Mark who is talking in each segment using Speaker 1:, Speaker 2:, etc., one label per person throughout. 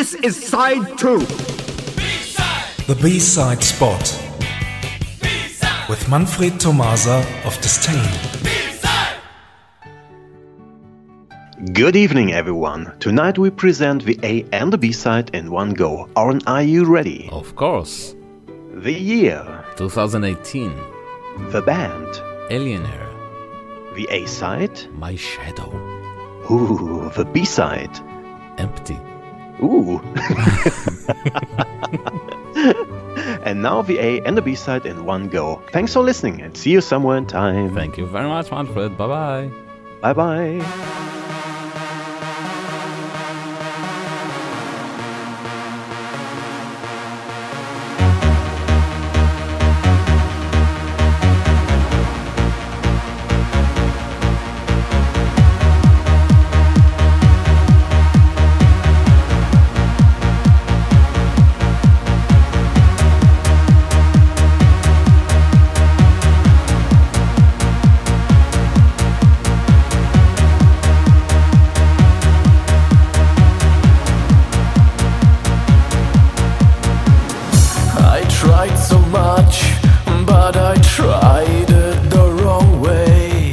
Speaker 1: This is side 2.
Speaker 2: B-side.
Speaker 3: The B-side spot
Speaker 2: B-side.
Speaker 3: with Manfred Tomasa of Disdain.
Speaker 2: B-side.
Speaker 4: Good evening, everyone. Tonight we present the A and the B-side in one go. Are you ready?
Speaker 5: Of course.
Speaker 4: The year,
Speaker 5: 2018.
Speaker 4: the band,
Speaker 5: Alienator.
Speaker 4: the A-side,
Speaker 5: My Shadow.
Speaker 4: ooh, the B-side,
Speaker 5: Empty.
Speaker 4: ooh. And now the A and the B-side in one go. Thanks for listening and see you somewhere in time.
Speaker 5: Thank you very much, Manfred. Bye-bye.
Speaker 4: Bye-bye.
Speaker 6: Tried so much, but I tried it the wrong way.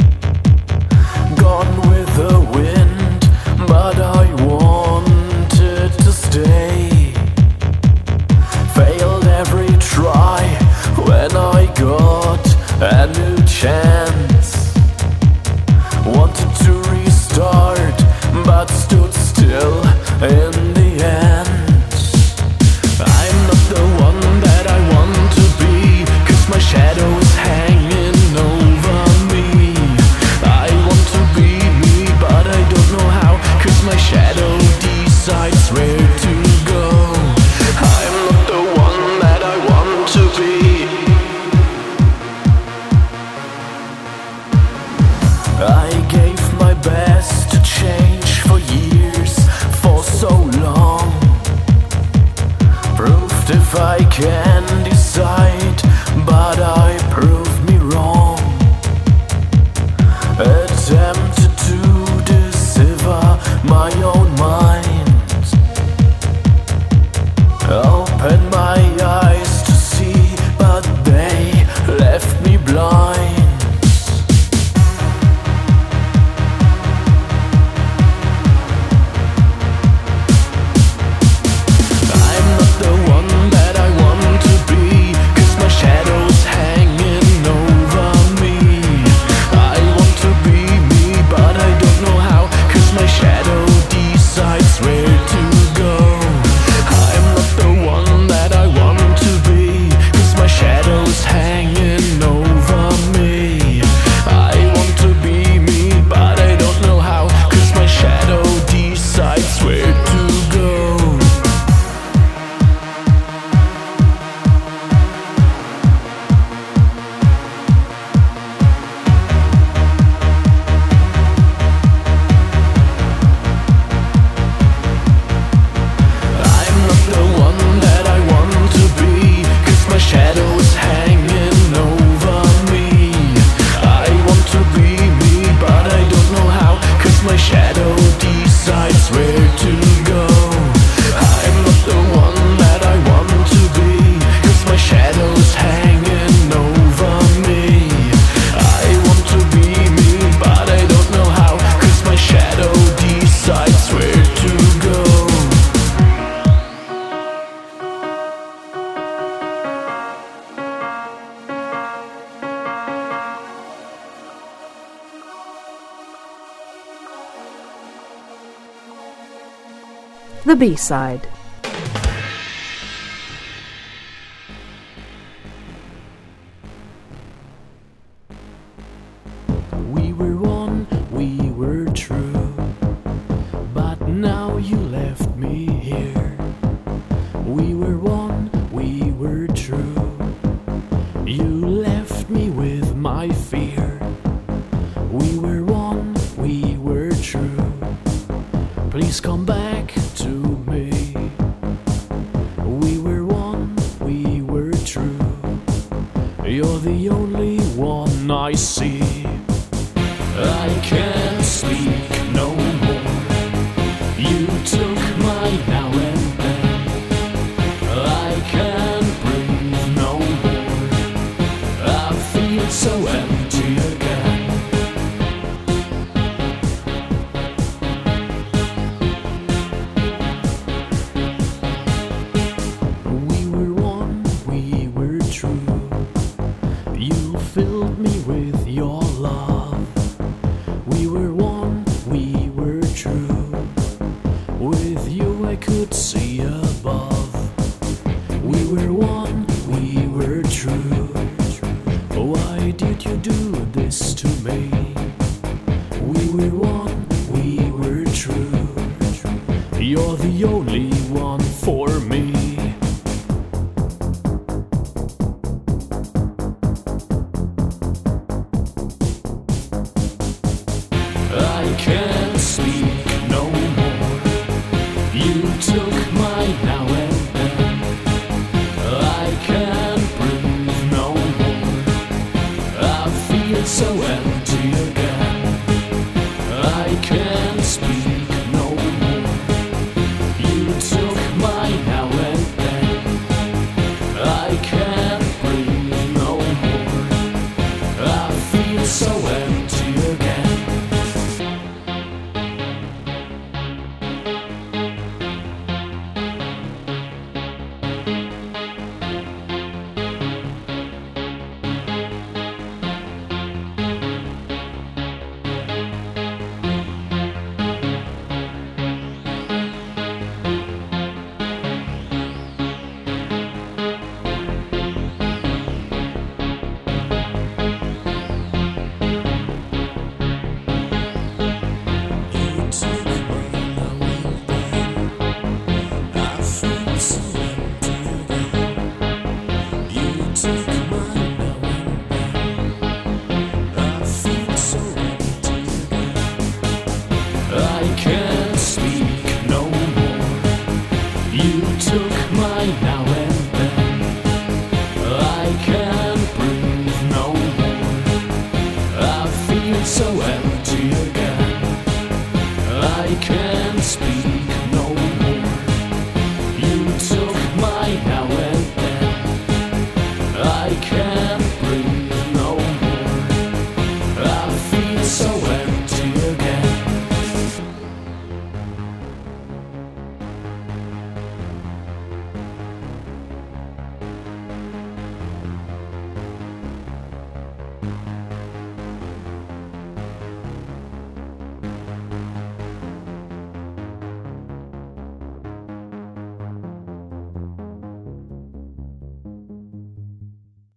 Speaker 6: Gone with the wind, but I wanted to stay. Failed every try when I got a new chance. Wanted to restart, but stood still in the end. I'm not the one that I want to be, 'cause my shadow is hanging over me. I want to be me, but I don't know how, 'cause my shadow decides where to go. I'm not the one that I want to be. I gave my best to change for years, for so long. Proved if I can decide, but I proved me wrong. Attempted to deceive my own mind. Opened my eyes to see, but they left me blind. Shadows hanging over me. I want to be me, but I don't know how, 'cause my shadow decides where to go. I'm not the one that I want to be, 'cause my shadow's hanging over me. I want to be me, but I don't know how, 'cause my shadow decides where to go. Shadow is hanging over me. I want to be me, but I don't know how, 'cause my shadow decides where to go. I'm not the one that I want to be, 'cause my shadow is hanging over me. I want to be me, but I don't know how, 'cause my shadow decides where to go.
Speaker 7: The B-side.
Speaker 6: We were one, we were true, but now you left me here. We were one, we were true. You left me with my fear. We were one, we were true. Please come back to me. We were one, we were true. You're the only one I see. I can't speak no more. You took my now I could see above. We were one, we were true. Why did you do this to me? We were one, we were true. You're the only one for me. I can't speak no more. You took my now and then. I can't breathe no more. I feel so empty again. I can't speak no more. You took my now and then. I can't breathe no more. I feel so empty again. I can't speak no more. You took